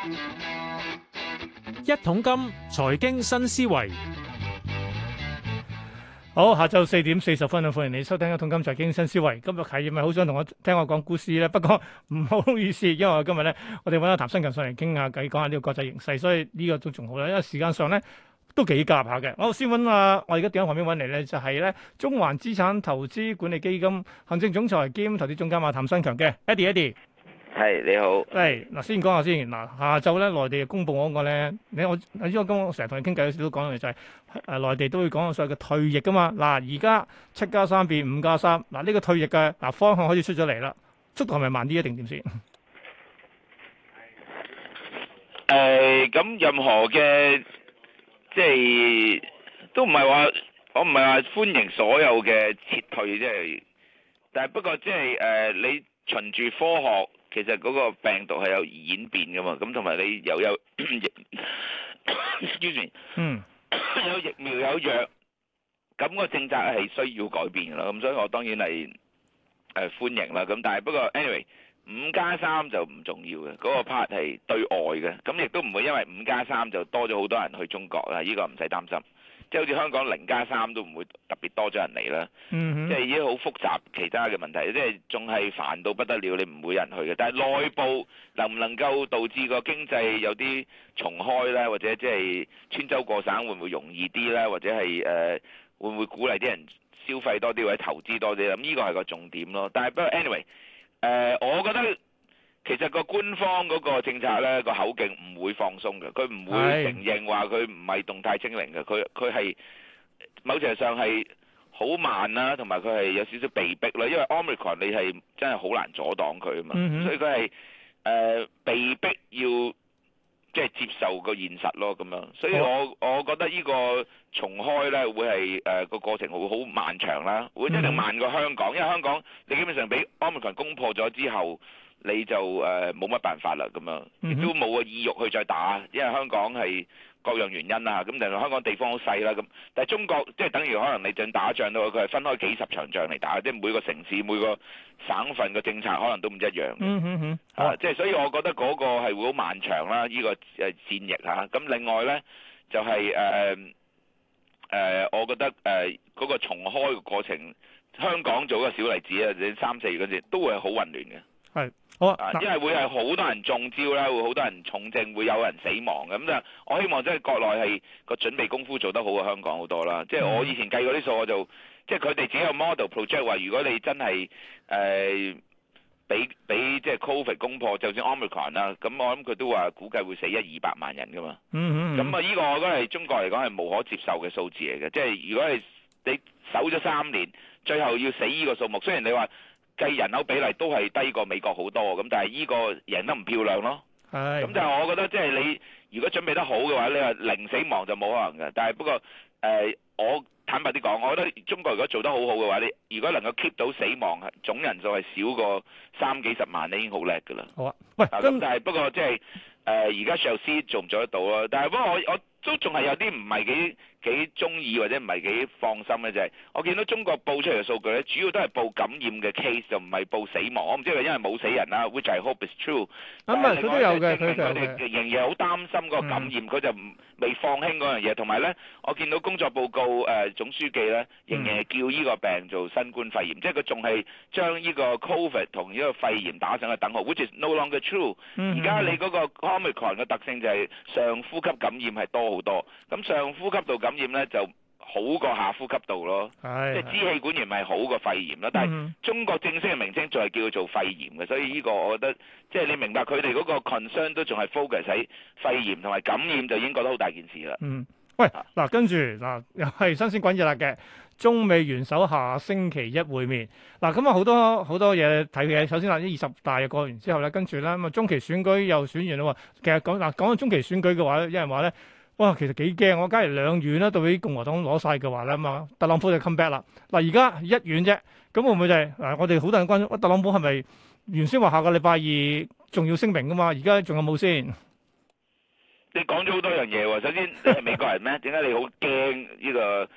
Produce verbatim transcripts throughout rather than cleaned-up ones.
一桶金財經新思維， 好，下晝四點四十分啊，歡迎你收聽《一桶金財經新思維》。今日係咪好想同我聽我講股市咧？不過唔好意思，因為我今日咧，我哋揾阿譚新強上嚟傾下偈，講下呢個國際形勢，所以呢個都仲好啦。因為時間上咧都幾夾下嘅。我先揾啊，我而家電話旁邊揾嚟咧，就係咧中環資產投資管理基金行政總裁兼投資總監阿譚新強嘅 Eddie，Eddie。 係你好， 係嗱，先講下先嗱，下晝咧內地公布嗰個咧，你我你知我今我成日同你傾偈嗰時都講嘅就係誒內地都會講到所謂嘅退役噶嘛，嗱而家七加三變五加三，嗱呢個退役嘅嗱方向開始出咗嚟啦，速度係咪慢啲一定點先？ 誒咁任何嘅即係都唔係話我唔係話歡迎所有嘅撤退，即係，但係不過即係誒你循住科學。其實嗰個病毒係有演變噶嘛，咁同埋你又有，excuse me， 嗯， 有疫苗有藥，咁個政策係需要改變噶啦，咁所以我當然係誒歡迎啦，咁但係不過 anyway，五加三就唔重要嘅，嗰個 part 係對外嘅，咁亦都唔會因為五加三就多咗好多人去中國啦，呢個唔使擔心。即係好似香港零加三都唔會特別多咗人嚟啦， 嗯哼， 即係已經好複雜其他嘅問題，即係仲係煩到不得了，你唔會有人去嘅。但係內部能唔能夠導致個經濟有啲重開咧，或者即係穿州過省會唔會容易啲咧，或者係誒、呃、會唔會鼓勵啲人消費多啲或者投資多啲？咁呢個係個重點咯。但係不過 anyway，誒、呃、我覺得。其實個官方嗰個政策咧，個口徑唔會放鬆嘅，佢唔會承認話佢唔係動態清零嘅，佢佢係某程度上係好慢啦，同埋佢係有少少被逼啦，因為 Omicron 你係真係好難阻擋佢啊嘛，嗯、所以佢係誒被逼要即係接受個現實咯咁樣，所以我我覺得呢個重開咧會係誒個過程會好漫長啦，會一定慢過香港，因為香港你基本上俾 Omicron 攻破咗之後。你就誒冇乜辦法啦，咁樣亦都冇個意欲去再打，因為香港係各樣原因啦，咁但係香港地方好細啦，咁但係中國即係等於可能你正打仗都佢係分開幾十場仗嚟打，即係每個城市每個省份嘅政策可能都唔一樣。嗯嗯嗯。啊，即係所以我覺得嗰個係會好漫長啦，呢個誒戰役嚇。咁另外咧就係誒誒，我覺得誒嗰個重開嘅過程，香港做一個小例子啊，你三四月嗰陣都會係好混亂嘅。 係。好啊， 因為會係好多人中招啦，會好多人重症，會有人死亡嘅。咁就我希望即係國內係個準備功夫做得好過香港好多啦。即係我以前計過啲數，我就即係佢哋自己有 model project 話，如果你真係誒俾俾即係 Covid 攻破，就算 Omicron 啦，咁我諗佢都話估計會死一二百萬人噶嘛。嗯嗯。咁啊，呢個我覺得係中國嚟講係無可接受嘅數字嚟嘅。即係如果係你守咗三年，最後要死呢個數目，雖然你話。計人口比例都係低過美國好多，咁但係呢個贏得唔漂亮咯。係。咁就係我覺得即係你如果準備得好嘅話，你話零死亡就冇可能嘅。但係不過誒、呃，我坦白啲講，我覺得中國如果做得好好嘅話，你如果能夠 keep 到死亡總人數係少過三幾十萬，你已經好叻㗎啦。好啊。喂，咁但係不過即係誒，而家上司做唔做得到咯？但係不過我我都仲係有啲唔係幾幾中意或者唔係幾放心嘅就係，我見到中國報出嚟嘅數據咧，主要都係報感染嘅 case，就唔係報死亡。我唔知係因為冇死人啦，which I hope is true。咁啊，佢都有嘅，佢哋仍然好擔心嗰個感染，佢就唔未放輕嗰樣嘢。同埋咧，我見到工作報告誒總書記咧，仍然係叫呢個病做新冠肺炎，即係佢仲係將呢個 Covid 同呢個肺炎打上個等號，which is no longer true。而家你嗰個 Omicron 嘅特性就係上呼吸感染係多好多，咁上呼吸道感染咧就好過下呼吸道咯，即係支氣管炎係好過肺炎咯。但係中國正式嘅名稱仲係叫佢做肺炎嘅，所以呢個我覺得即係你明白佢哋嗰個 concern 都仲係 focus 喺肺炎同埋感染，就已經覺得好大件事啦。嗯，喂，嗱、啊、跟住嗱又係新鮮滾熱辣嘅中美元首下星期一會面。嗱咁啊好多好多嘢睇嘅。首先嗱，呢二十大又過完之後咧，跟住咧咁啊中期選舉又選完啦喎。其實講嗱講到中期選舉嘅話咧，有人話咧。哇，其實幾驚！我假如兩院咧，對於共和黨攞晒嘅話咧，咁啊，特朗普就 come back 啦。嗱，而家一院啫，咁會唔會就係、是、嗱？我哋好多人關注，特朗普係咪原先話下個禮拜二仲要聲明噶嘛？而家仲有冇先？你講咗好多樣嘢喎。首先，你係美國人咩？點解你好驚呢個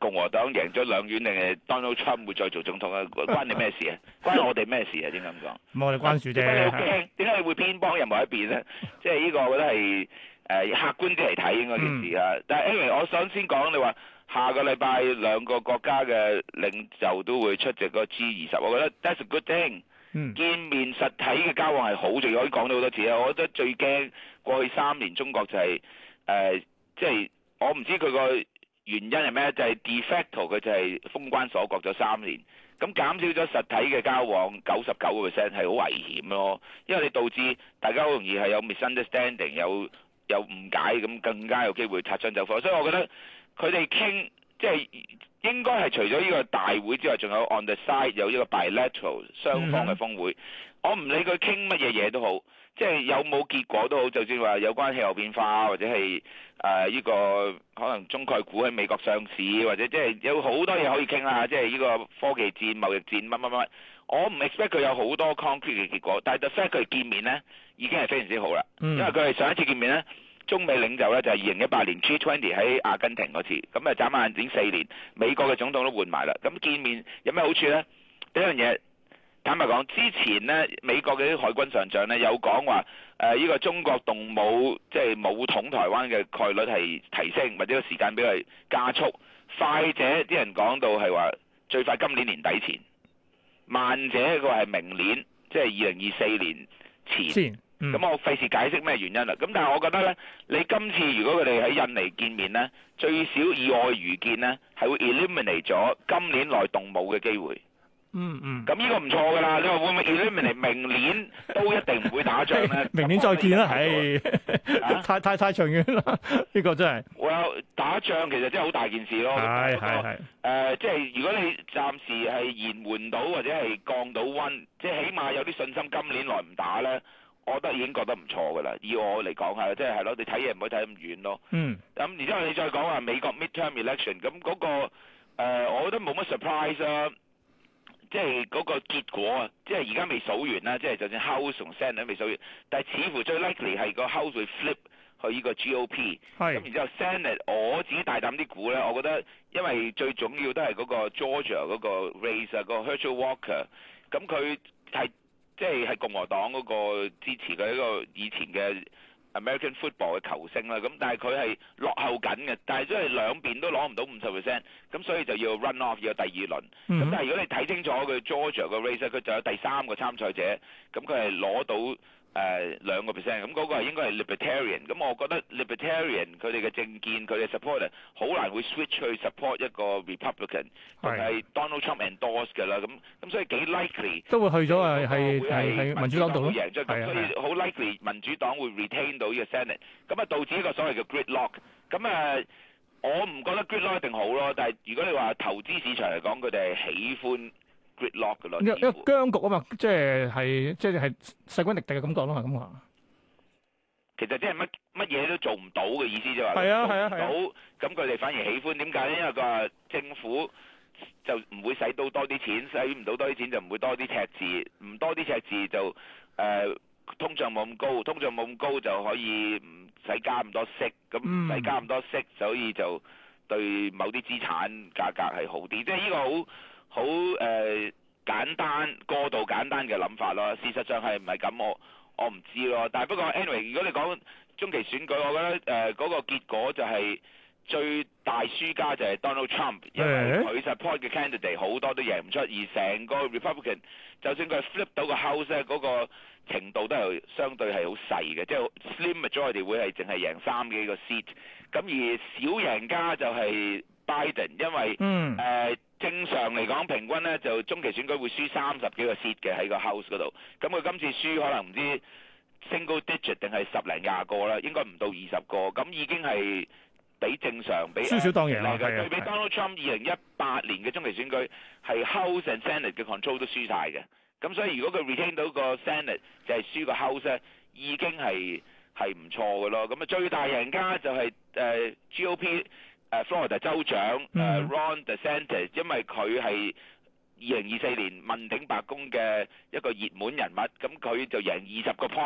共和黨贏咗兩院定係 Donald Trump 會再做總統啊？關你咩事啊？關我哋咩事啊？點解咁講？ 咁我哋關注啫。 點解你好驚？點解你會偏幫任何一邊咧？即係呢個我覺得係誒、呃、客觀啲嚟睇應該件事啊。嗯、但係 anyway，我想先講你話下個禮拜兩個國家嘅領袖都會出席個 G 二十，我覺得 that's a good thing。嗯、見面實體嘅交往係好重要，可以講到好多次啊！我覺得最驚過去三年中國就係、是、誒，即、呃、係、就是、我唔知佢個原因係咩，就係、是、de facto 佢就係封關鎖國咗三年，咁減少咗實體嘅交往九十九個 percent 係好危險咯，因為你導致大家好容易係有 misunderstanding 有有誤解，咁更加有機會擦槍走火，所以我覺得佢哋傾即係。應該係除咗呢個大會之外，仲有 on the side 有呢個 bilateral 雙方嘅峰會。Mm hmm. 我唔理佢傾乜嘢嘢都好，即係有冇結果都好，就算話有關氣候變化或者係誒呢個可能中概股喺美國上市，或者即係有好多嘢可以傾啦。即係呢個科技戰、貿易戰乜乜乜，我唔 expect 佢有好多 concrete 嘅結果。但係 the fact 佢見面咧已經係非常之好啦，mm hmm. 因為佢係上一次見面咧。中美領袖咧就係二零一八年 G 二十 喺阿根廷嗰次，咁啊眨眼已經四年，美國嘅總統都換埋啦。咁見面有咩好處咧？第一樣嘢，坦白講，之前咧美國嘅啲海軍上將咧有講話，誒呢個中國動武即係武統台灣嘅概率係提升，或者個時間比佢加速。快者啲人講到係話最快今年年底前，慢者佢話係明年，即係二零二四年前。前咁、嗯、我費事解釋咩原因啦。咁但係我覺得咧，你今次如果佢哋喺印尼見面咧，最少以我預見咧，係會 eliminate 咗今年內動武嘅機會。嗯嗯。咁呢個唔錯㗎啦。你話會唔會 eliminate 明年都一定唔會打仗咧？ 明年再見啦，係、啊。太太太長遠啦，呢、呢個真係。 Well，打仗其實真係好大件事咯。係係係。誒，即係如果你暫時係延緩到或者係降到溫，即係起碼有啲信心今年內唔打咧。我覺得已經覺得唔錯㗎啦，以我嚟講係，即係係咯，你睇嘢唔可以睇咁遠咯。嗯。咁然之後你再講話美國 midterm election，咁嗰、嗰個、呃、我覺得冇乜 surprise 啊，即係嗰個結果啊，即係而家未數完啦，即係就算 House 同 Senate 都未數完，但係似乎最 likely 係個 House 會 flip 去呢個 G O P。係。咁然之後 Senate，我自己大膽啲估咧，我覺得因為最重要都係嗰個 Georgia 嗰個 race 啊，嗰個 Herschel Walker，咁佢係。即係係共和黨嗰個支持嘅一個以前嘅 American football 嘅球星啦，咁但係佢係落後緊嘅，但係都係兩邊都攞唔到五十 percent，咁所以就要 run off 要有第二輪。咁、嗯、但係如果你睇清楚佢 Georgia 個 race，佢就有第三個參賽者，咁佢係攞到。誒兩個 percent，咁嗰個係應該係 libertarian，咁我覺得 libertarian 佢哋嘅政見佢哋 supporter 好難會 switch 去 support 一個 republican，係係 Donald Trump endorse 嘅啦，咁咁所以幾 likely 都會去咗係係係民主黨度咯， 贏咗，咁所以好 likely 民主黨會 retain 到呢個 senate，咁啊導致一個所謂嘅 gridlock，咁啊我唔覺得 gridlock 一定好咯，但係如果你話投資市場嚟講，佢哋係喜歡。Gridlock 嘅咯， 因為僵局啊嘛，即係係即係係勢均力敵嘅感覺咯，係咁話。 其實即係乜乜嘢都做唔到嘅意思就話， 係啊係啊係啊。 到咁佢哋反而喜歡，點解咧？因為佢話政府就唔會使到多啲錢，使唔到多啲錢就唔會多啲赤字，唔多啲赤字就誒、呃、通脹冇咁高，通脹冇咁高就可以唔使加咁多息，咁唔使加咁多息，所以就對某啲資產價格係好啲，即係呢個好。好誒、呃、簡單過度簡單嘅諗法咯，事實上係唔係咁？我我唔知咯。但係不過 anyway，如果你講中期選舉，我覺得誒嗰、呃那個結果就係最大輸家就係 Donald Trump，因為佢 support 嘅 candidate 好多都贏唔出，而成個 Republican 就算佢 flip 到個 house 咧，嗰個程度都係相對係好細嘅，即係 slim majority 會係淨係贏三幾個 seat。咁而小贏家就係 Biden，因為誒。嗯呃正常嚟講，平均咧就中期選舉會輸三十幾個 seat 嘅喺個 house 嗰度。咁佢今次輸可能唔知 single digit 定係十零廿個啦，應該唔到二十個。咁已經係比正常比少少當贏啦。 對比 Donald Trump 二零一八年嘅中期選舉係 House and Senate 嘅 control 都輸晒嘅。咁所以如果佢 retain 到個 Senate 就係輸個 House 咧，已經係係唔錯嘅咯。咁啊最大贏家就係、是、誒、呃、G O P。誒 Florida 州長誒 Ron DeSantis，因為佢係二零二四年問鼎白宮嘅一個熱門人物，咁佢就贏二十個 point，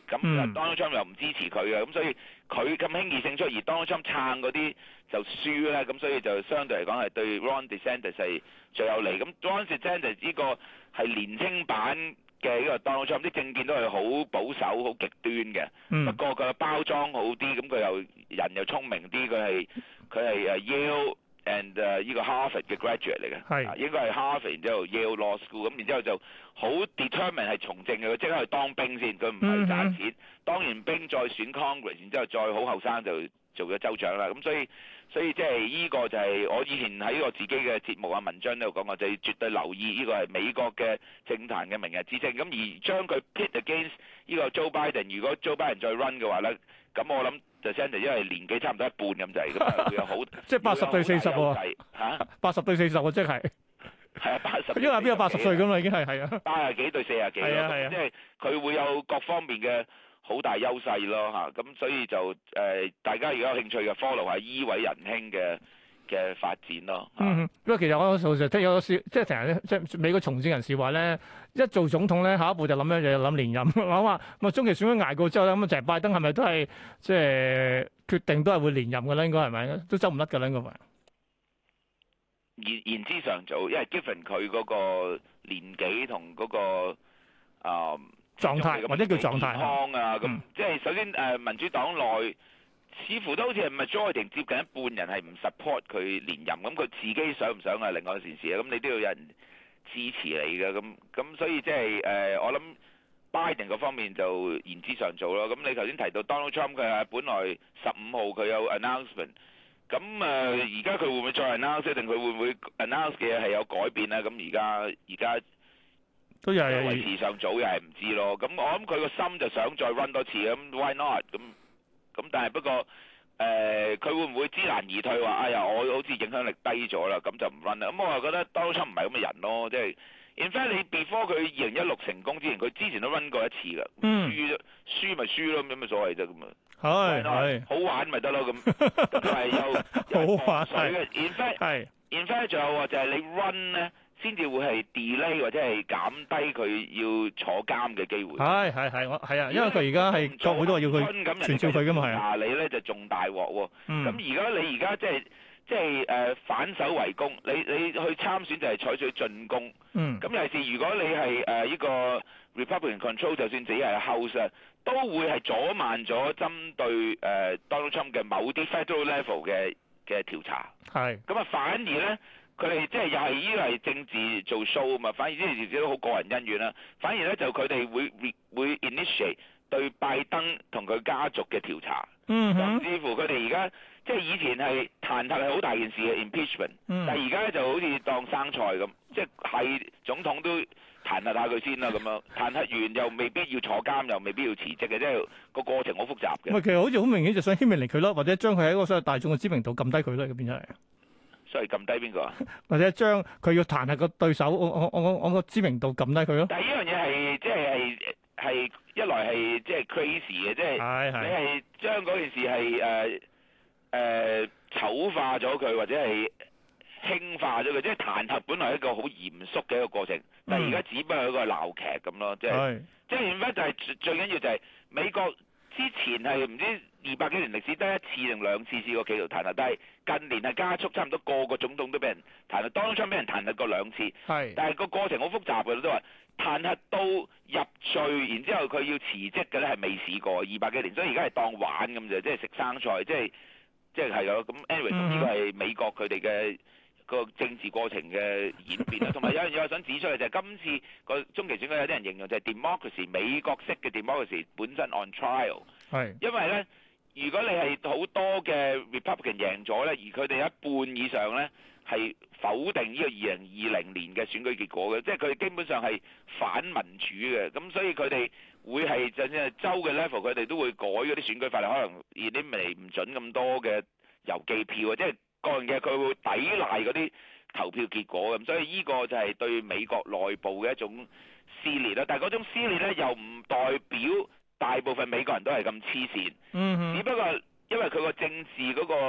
咁、 嗯、 Donald Trump 又唔支持佢嘅，咁所以佢咁輕易勝出，而 Donald Trump 撐嗰啲就輸咧，咁所以就相對嚟講係對 Ron DeSantis 係最有利。咁 Ron DeSantis 呢個係年輕版嘅呢個 Donald Trump，啲政見都係好保守、好極端嘅。 嗯、 不過佢嘅包裝好啲，咁佢又人又聰明啲，佢係佢係誒 Yale and 誒呢個 Harvard 嘅 graduate 嚟嘅， 係應該係 Harvard 然之後 Yale Law School，咁然之後就好 determined 係從政嘅，佢即刻去當兵先，佢唔係賺錢，嗯、當完兵再選 Congress，然之後再好後生就做咗州長啦。咁所以所以即係呢個就係我以前喺我自己嘅節目啊文章都有講過，就係絕對留意呢個係美國嘅政壇嘅明日之星。咁而將佢 pit against 呢個 Joe Biden，如果 Joe Biden 再 run 嘅話咧，咁我諗。就 DeSantis 因為年紀差唔多一半咁滯，咁啊會有好即係八十對四十喎嚇， 八十對四十喎，即係係啊八十， 因為邊有八十歲咁啦，已經係係啊， 八十幾對四十幾咯，即係佢會有各方面嘅好大優勢咯嚇，咁所以就誒、呃、大家如果有興趣嘅 follow 下依位仁兄嘅嘅發展咯。 嗯，因為其實我有時聽有個笑，即係成日咧，即係美國從政人士話咧，一做總統咧，下一步就諗樣嘢，諗連任。我話咁啊，中期選舉捱過之後咧，咁啊，就係拜登係咪都係即係決定都係會連任㗎啦？應該係咪？都走唔甩㗎啦，應該係。 言言之尚早，因為 given 佢嗰個年紀同嗰、嗰個啊、呃、 狀態或者叫狀態健康啊，咁、 嗯、 即係首先誒、呃、民主黨內。似乎都好似係 majority 接近一半人係唔 support 佢連任，咁佢自己想唔想係另外一件事啊？咁你都要有人支持你嘅，咁咁所以即係誒，我諗 Biden 嗰方面就言之尚早咯。咁你頭先提到 Donald Trump 佢係本來十五號佢有 announcement，咁誒而家佢會唔會再 announce 定佢會唔會 announce 嘅嘢係有改變咧？咁而家而家都又係為時尚早，又係唔知咯。咁我諗佢個心就想再 run 多次，咁 why not 咁？咁但係不過誒，佢、呃、會唔會知難而退話？哎呀，我好似影響力低咗啦，咁就唔 run 啦。咁我又覺得 Donald Trump 唔係咁嘅人咯，即係 in fact 你 before 佢二零一六成功之前，佢之前都 run 過一次㗎， 嗯、 輸輸咪輸咯，有咩所謂啫咁啊？ 係係好玩咪得咯咁，咁係有好玩水嘅。in fact 係 in fact 仲有話就係你 run 咧。先至會係 delay 或者係減低佢要坐監嘅機會。 係係係，我係啊，因為佢而家係國會都話要佢傳召佢噶嘛，係啊。 嗱你咧就仲大鑊喎。咁而家你而家即係即係誒反手為攻，你你去參選就係採取進攻。 嗯。咁尤其是如果你係誒呢個 Republican control，就算自己係 House 啊，都會係阻慢咗針對誒 Donald Trump 嘅某啲 federal level 嘅嘅調查。係。咁啊，反而咧。佢哋即係又係呢個係政治做 show 啊嘛，反而呢啲事都好個人恩怨啦。反而咧就佢哋會會 initiate 對拜登同佢家族嘅調查， 嗯哼， 甚至乎佢哋而家即係以前係彈劾係好大件事嘅 impeachment，嗯、但係而家咧就好似當生菜咁，即係係總統都彈劾下佢先啦咁樣，彈劾完又未必要坐監，又未必要辭職嘅，即係個過程好複雜嘅。 唔係，其實好似好明顯就想牽連嚟佢咯，或者將佢喺一個所謂大眾嘅知名度撳低佢咯，咁變咗係。 所以撳低邊個啊？ 或者將佢要彈劾個對手，我我我我個知名度撳低佢咯。 但係呢樣嘢係即係係係一來係即係 crazy 嘅，即係係係你係將嗰件事係誒誒醜化咗佢，或者係輕化咗佢。即係彈劾本來係一個好嚴肅嘅一個過程，但係而家只不過係一個鬧劇咁咯。即係即係而家就係最緊要就係美國之前係唔知二百幾年歷史得一次定兩次試過企圖彈劾，但係近年係加速，差唔多個個總統都俾人彈劾，當初俾人彈劾過兩次，係，但係個過程好複雜嘅，都話彈劾到入罪，然之後佢要辭職嘅咧係未試過二百幾年，所以而家係當玩咁啫，即係食生菜，即係即係係咯。咁 anyway，咁呢個係美國佢哋嘅個政治過程嘅演變啦。同埋有樣嘢我想指出嘅就係今次個中期選舉有啲人形容就係 democracy 美國式嘅 democracy 本身 on trial，係，因為咧。如果你係好多嘅 Republican 贏咗咧，而佢哋一半以上咧係否定呢個二零二零年嘅選舉結果嘅，即係佢哋基本上係反民主嘅，咁所以佢哋會係就算係州嘅 level，佢哋都會改嗰啲選舉法例，可能而啲未唔準咁多嘅郵寄票啊，即係各樣嘢佢會抵賴嗰啲投票結果咁，所以呢個就係對美國內部嘅一種撕裂啦。但係嗰種撕裂咧又唔代表大部分美國人都係咁黐線，嗯、只不過因為佢個政治嗰個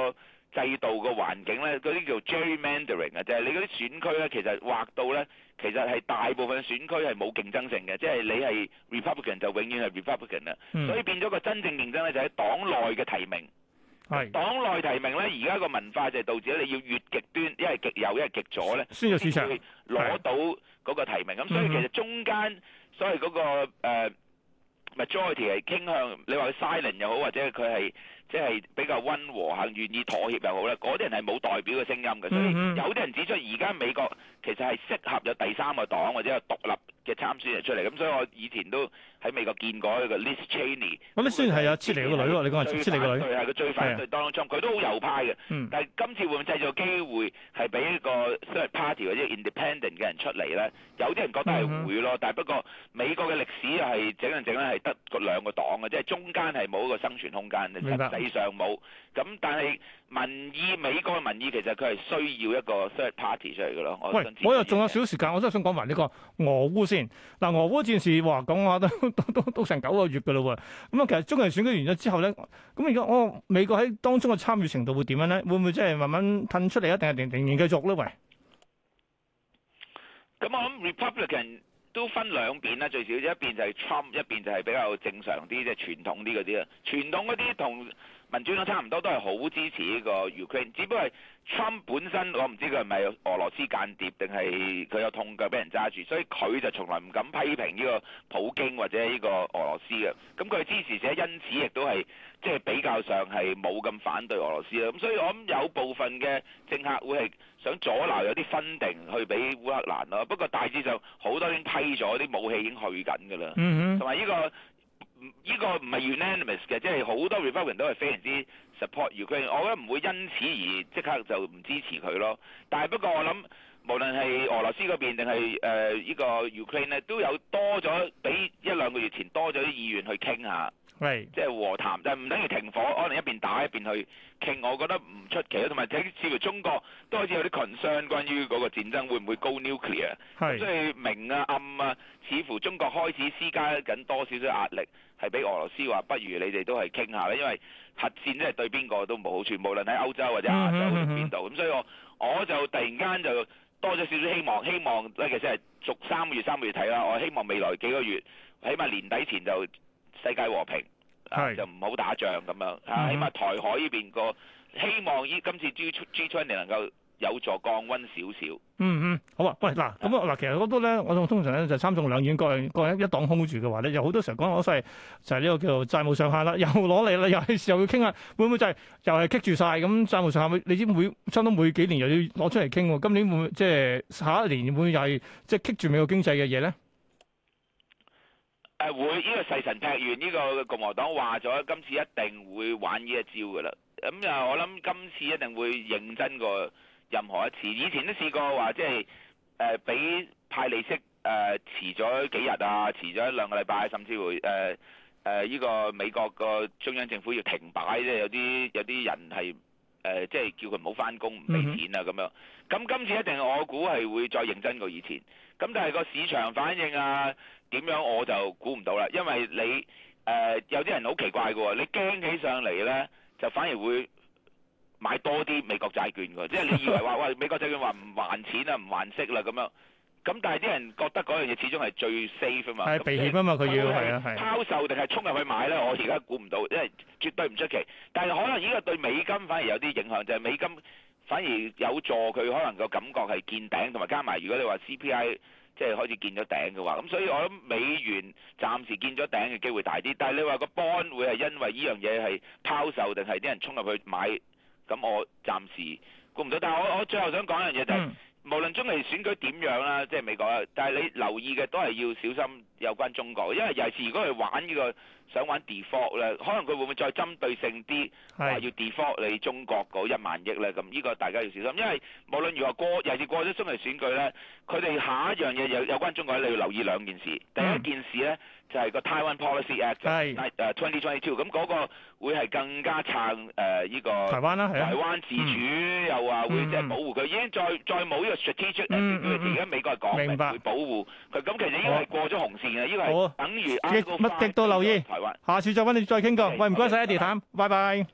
制度個環境咧，嗰啲叫 gerrymandering 啊，就係你嗰啲選區咧，其實劃到咧，其實係大部分選區係冇競爭性嘅，即係你係 Republican 就永遠係 Republican 啦， 嗯、 所以變咗個真正競爭咧就喺黨內嘅提名。 係黨內提名咧，而家個文化就係導致咧，你要越極端，一係極右，一係極左咧， 先有市場攞到嗰個提名。咁所以其實中間所謂嗰個誒 majority 係傾向，你話佢 silent 又好，或者佢係即係比較溫和肯願意妥協又好咧，嗰啲人係冇代表嘅聲音嘅。所以有啲人指出，而家美國其實係適合有第三個黨或者有獨立嘅參選人出嚟。咁所以我以前都喺美國見過一個 Liz Cheney。 咁你雖然係有切尼個女喎，你講係切尼個女。 係佢最反對 Donald Trump，佢都好右派嘅。 嗯、 但係今次會唔會製造機會係俾一個 third party 或者 independent 嘅人出嚟咧？有啲人覺得係會咯，嗯、但係不過美國嘅歷史又係整嚟整咧係得個兩個黨嘅，即係中間係冇一個生存空間，實際上冇。咁但係民意，美國嘅民意其實佢係需要一個 third party 出嚟嘅咯。 喂，我又仲有少少時間，我真係想講埋呢個俄烏先。嗱，俄烏戰事話講話都都都都成九個月嘅咯喎。咁啊，其實中期選舉完咗之後咧，咁而家我美國喺當中嘅參與程度會點樣咧？會唔會即係慢慢褪出嚟啊？定係定仍然繼續咧？喂， 咁我諗 Republican 都分兩邊啦，最少一邊就係 Trump， 一邊就係比較正常啲，即係傳統啲嗰啲啊。傳統嗰啲同民主黨差唔多，都係好支持呢個 Ukraine， 只不過係 Trump 本身我唔知佢係咪俄羅斯間諜定係佢有痛腳俾人揸住，所以佢就從來唔敢批評呢個普京或者呢個俄羅斯嘅。咁佢支持者因此亦都係即係比較上係冇咁反對俄羅斯啦。咁所以我諗有部分嘅政客會係想阻撓有啲分定去俾烏克蘭咯。不過大致上好多已經批咗，啲武器已經去緊㗎啦。 嗯哼， 同埋呢個。呢個唔係 unanimous 嘅，即係好多 Republican 都係非常之 support Ukraine，我覺得唔會因此而即刻就唔支持佢咯。但係不過我諗，無論係俄羅斯嗰邊定係誒呢個 Ukraine 咧，都有多咗比一兩個月前多咗啲意願去傾下， 係即係和談，但係唔等於停火，可能一邊打一邊去傾，我覺得唔出奇咯。同埋睇似乎中國都好似有啲 concern 關於嗰個戰爭會唔會 go nuclear， 係所以明啊暗啊，似乎中國開始施加緊多少少壓力。係俾俄羅斯話，不如你哋都係傾下啦，因為核戰即係對邊個都冇好處，無論喺歐洲或者亞洲定邊度。咁、嗯嗯嗯、所以我我就突然間就多咗少少希望，希望咧其實係逐三個月三個月睇啦。我希望未來幾個月，起碼年底前就世界和平，是啊、就唔好打仗咁樣。啊，嗯、起碼台海呢邊個希望依今次 G G twenty 能夠有助降溫少少。 嗯嗯，好啊。喂，嗱咁啊嗱，其實好多咧，我通常咧就參眾兩院各各一黨 hold 住嘅話咧，有好多時候講攞晒就係呢個叫做債務上限啦，又攞嚟啦，又係時候要傾下，會唔會就係、是、又係棘住晒咁債務上限？你知每差唔多每幾年又要攞出嚟傾喎，今年會唔會即係下一年會唔會又係即係棘住美國經濟嘅嘢咧？ 誒會，呢、這個誓神劈願，呢、這個共和黨話咗，今次一定會玩呢一招㗎啦。咁啊，我諗今次一定會認真過任何一次，以前都試過話即係誒俾派利息誒、呃、遲咗幾日啊，遲咗一兩個禮拜，甚至會誒誒呢個美國個中央政府要停擺，即係有啲有啲人係誒、呃、即係叫佢唔好翻工唔俾錢啊咁樣。咁今次一定我估係會再認真過以前。咁但係個市場反應啊點樣我就估唔到啦，因為你誒、呃、有啲人好奇怪嘅喎，你驚起上嚟咧就反而會買多啲美國債券㗎，即係你以為話喂美國債券話唔還錢啊，唔還息啦咁樣，咁但係啲人覺得嗰樣嘢始終係最 safe 啊嘛， 係避險啊嘛，佢要係啊係。 拋售定係衝入去買咧？我而家估唔到，因為絕對唔出奇。但係可能呢個對美金反而有啲影響，就係、是、美金反而有助佢可能個感覺係見頂，同埋加埋如果你話 C P I 即係開始見咗頂嘅話，咁所以我諗美元暫時見咗頂嘅機會大啲。但係你話個 bond 會係因為呢樣嘢係拋售定係啲人衝入去買？咁我暫時估唔到，但係我我最後想講一樣嘢就係、是，嗯、無論中期選舉點樣啦，即係美國啦，但係你留意嘅都係要小心有關中國，因為尤其是如果佢玩呢、這個想玩 default 咧，可能佢會唔會再針對性啲話要 default 你中國嗰一萬億咧？咁呢個大家要小心，因為無論如何過，尤其是過咗中期選舉咧，佢哋下一樣嘢有有關中國你要留意兩件事，第一件事咧。嗯就係個 Taiwan Policy Act，係誒 twenty twenty two，咁嗰個會係更加撐誒呢個台灣啦，係台灣自主、嗯、又話會即係保護佢，已經再再冇呢個 strategic，而家美國係講明會保護佢，咁其實呢個係過咗紅線嘅，呢個係等於乜極度留意台灣。下次再揾你再傾過，喂唔該晒 Eddie 譚，拜拜。